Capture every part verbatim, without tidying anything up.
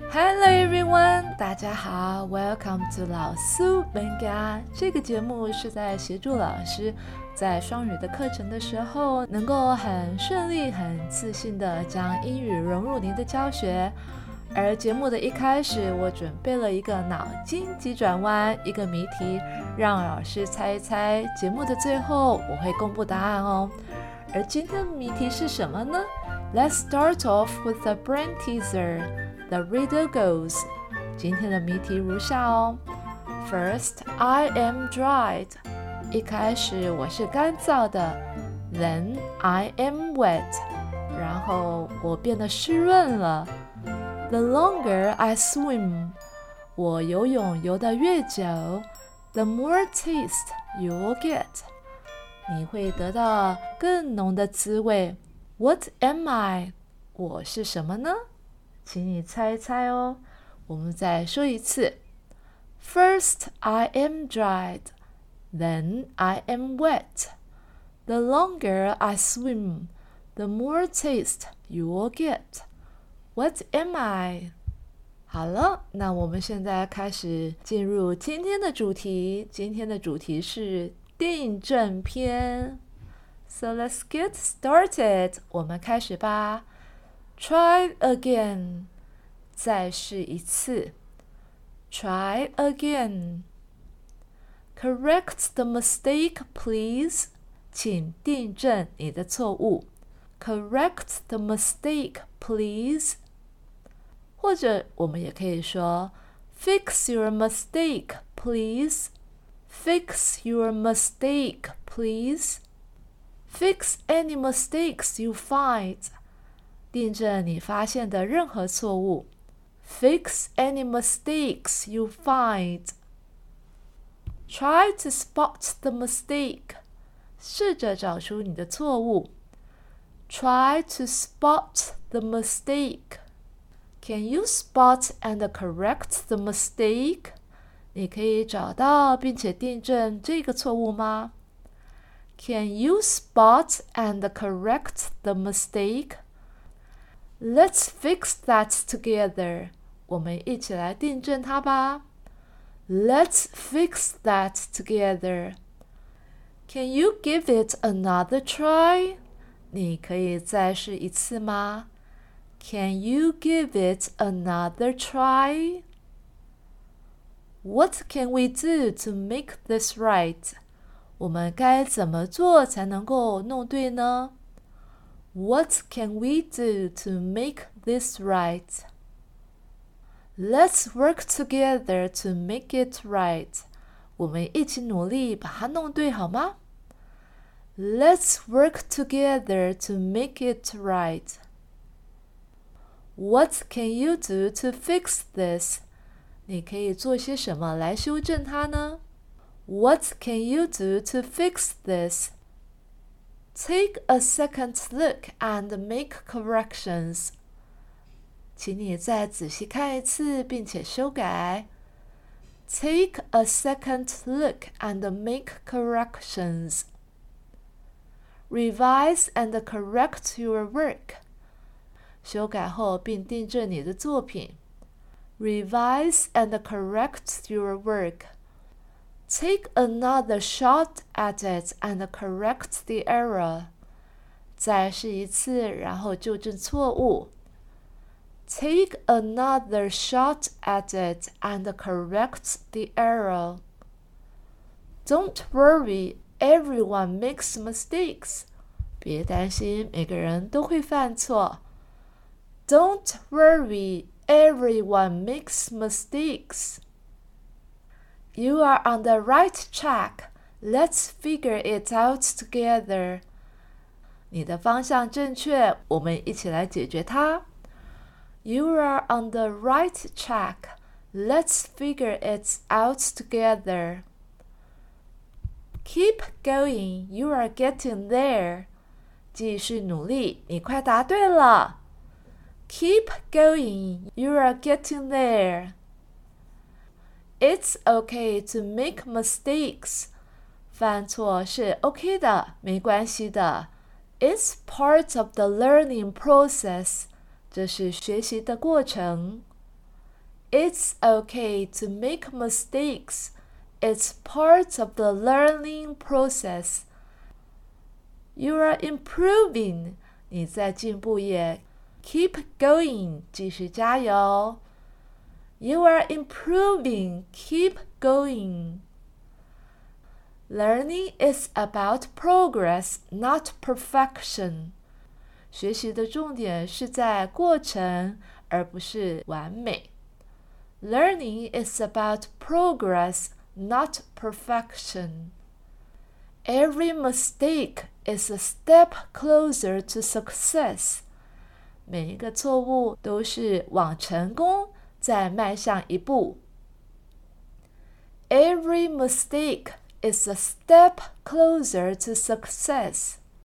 Hello everyone， 大家好 ，Welcome to 老苏本家。这个节目是在协助老师在双语的课程的时候，能够很顺利、很自信的将英语融入您的教学。而节目的一开始，我准备了一个脑筋急转弯，一个谜题，让老师猜一猜。节目的最后，我会公布答案哦。而今天的谜题是什么呢？ Let's start off with the brain teaser.The riddle goes 今天的谜题如下哦 First, I am dried 一开始我是干燥的 Then, I am wet 然后我变得湿润了 The longer I swim 我游泳游得越久 The more taste you'll get 你会得到更浓的滋味 What am I? 我是什么呢？请你猜一猜哦。我们再说一次 First, I am dried. Then, I am wet. The longer I swim, the more taste you will get. What am I? 好了，那我们现在开始进入今天的主题。今天的主题是订正篇。So let's get started. 我们开始吧。Try again. 再试一次。Try again. Correct the mistake, please. 请订正你的错误。Correct the mistake, please. 或者我们也可以说 Fix your mistake, please. Fix your mistake, please. Fix any mistakes you find.订正你发现的任何错误 Fix any mistakes you find. Try to spot the mistake. 试着找出你的错误 Try to spot the mistake. Can you spot and correct the mistake? 你可以找到并且订正这个错误吗 Can you spot and correct the mistake?Let's fix that together. 我们一起来订正它吧。Let's fix that together. Can you give it another try? 你可以再试一次吗 Can you give it another try? What can we do to make this right? 我们该怎么做才能够弄对呢What can we do to make this right? Let's work together to make it right. 我们一起努力把它弄对好吗 Let's work together to make it right. What can you do to fix this? 你可以做些什么来修正它呢 What can you do to fix this?Take a second look and make corrections. 请你再仔细看一次并且修改。Take a second look and make corrections. Revise and correct your work. 修改后并订正你的作品。Revise and correct your work.Take another shot at it and correct the error. 再试一次，然后纠正错误。Take another shot at it and correct the error. Don't worry, everyone makes mistakes. 别担心，每个人都会犯错。Don't worry, everyone makes mistakes.You are on the right track. Let's figure it out together. 你的方向正确，我们一起来解决它。You are on the right track. Let's figure it out together. Keep going. You are getting there. 继续努力，你快答对了。Keep going. You are getting there.It's okay to make mistakes. 犯错是 OK 的，没关系的。It's part of the learning process. 这是学习的过程。 It's okay to make mistakes. It's part of the learning process. You are improving. 你在进步耶。Keep going. 继续加油。You are improving. Keep going. Learning is about progress, not perfection. 学习的重点是在过程，而不是完美。Learning is about progress, not perfection. Every mistake is a step closer to success. 每一个错误都是往成功再迈向一步。Every mistake is a step closer to success.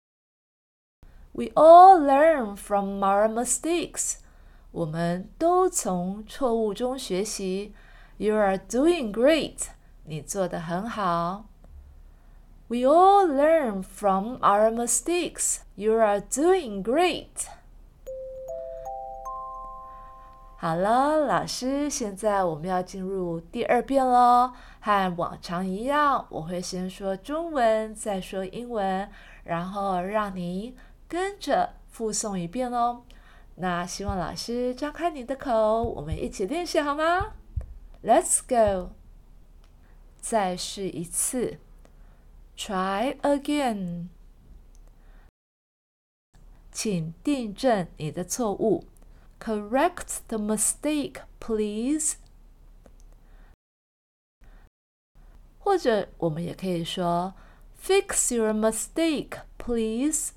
We all learn from our mistakes. 我们都从错误中学习。You are doing great. 你做得很好。We all learn from our mistakes. You are doing great. 好了，老师，现在我们要进入第二遍咯。和往常一样，我会先说中文，再说英文，然后让你跟着复诵一遍哦。那希望老师张开你的口，我们一起练习好吗？ Let's go. 再试一次。Try again. 请订正你的错误。Correct the mistake, please. 或者我们也可以说 Fix your mistake, please.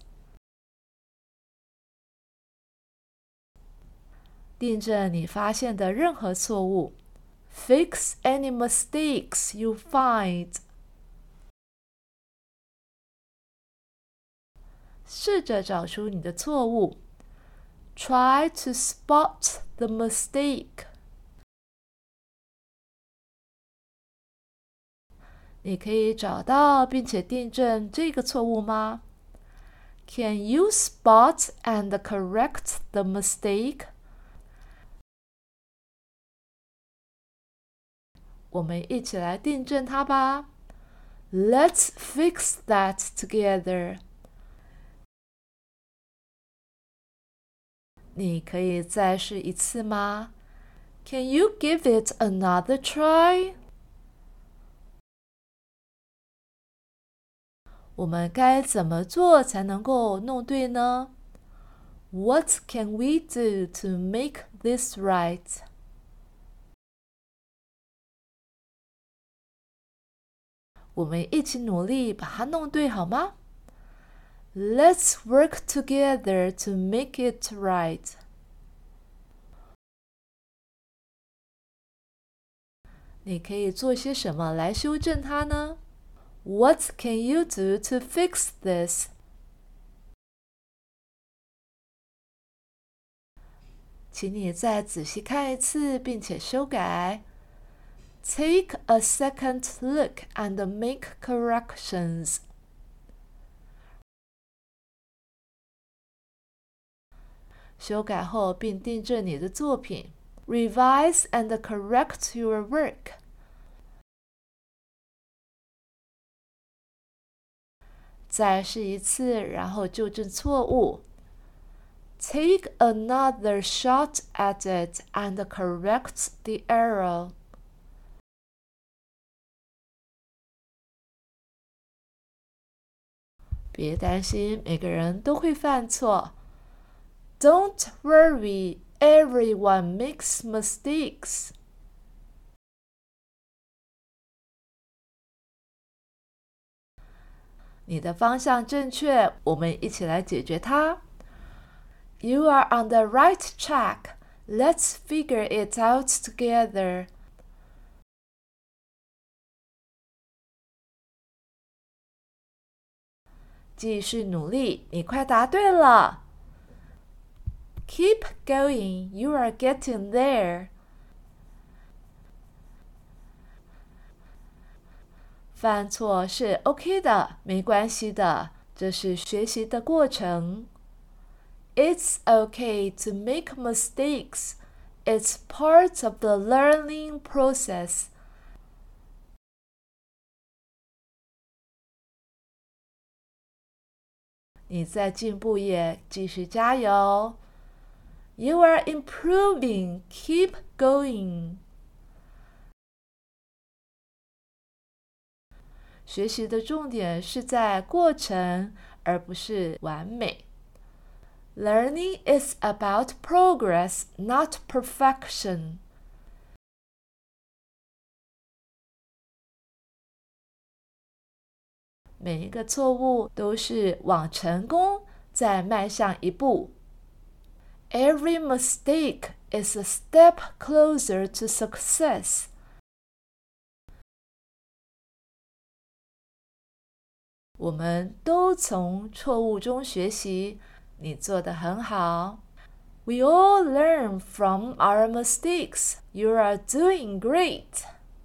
订正你发现的任何错误。Fix any mistakes you find. 试着找出你的错误。Try to spot the mistake. 你可以找到并且订正这个错误吗？ Can you spot and correct the mistake? 我们一起来订正它吧。Let's fix that together. 你可以再试一次吗？ Can you give it another try? 我们该怎么做才能够弄对呢？ What can we do to make this right? 我们一起努力把它弄对好吗？ Let's work together to make it right. 你可以做些什么来修正它呢？ What can you do to fix this? 请你再仔细看一次，并且修改。Take a second look and make corrections. 修改后并订正你的作品。Revise and correct your work. 再试一次，然后纠正错误。Take another shot at it and correct the error. 别担心，每个人都会犯错。Don't worry, everyone makes mistakes. 你的方向正确，我们一起来解决它。You are on the right track. Let's figure it out together. 继续努力，你快答对了。Keep going, you are getting there. 犯错是 OK 的，没关系的，这是学习的过程。It's okay to make mistakes. It's part of the learning process. 你在进步耶，继续加油。You are improving. Keep going. 学习的重点是在过程，而不是完美。Learning is about progress, not perfection. 每一个错误都是往成功再迈向一步。Every mistake is a step closer to success. 我们都从错误中学习，你做得很好。We all learn from our mistakes. You are doing great.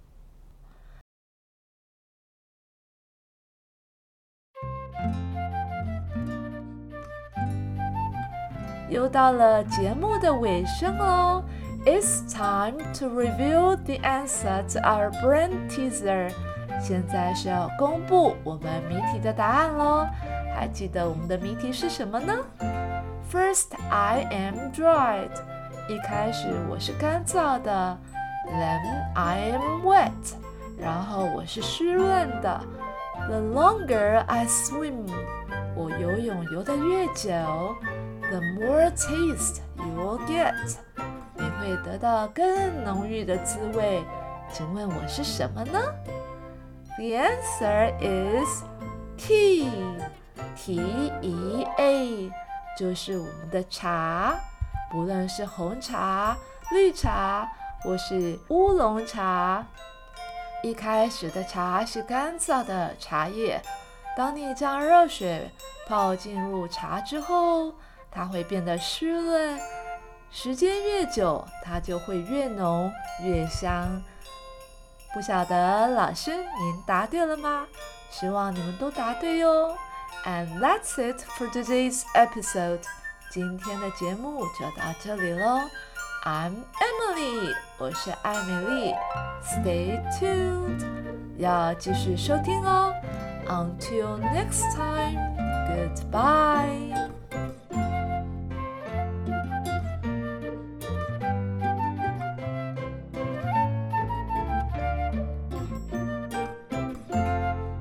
又到了节目的尾声哦。It's time to reveal the answer to our brain teaser. 现在是要公布我们谜题的答案咯。还记得我们的谜题是什么呢？ First, I am dried. 一开始我是干燥的。Then I am wet. 然后我是湿润的。The longer I swim. 我游泳游得越久，The more taste you will get. 你会得到更浓郁的滋味。请问我是什么呢？ The answer is tea. T E A 就是我们的茶，不论是红茶、绿茶或是乌龙茶。一开始的茶是干燥的茶叶，当你将热水泡进入茶之后，它会变得湿润，时间越久，它就会越浓越香。不晓得老师您答对了吗？希望你们都答对哟。And that's it for today's episode. 今天的节目就到这里咯。I'm Emily. 我是艾美丽。Stay tuned. 要继续收听哦。Until next time. Goodbye.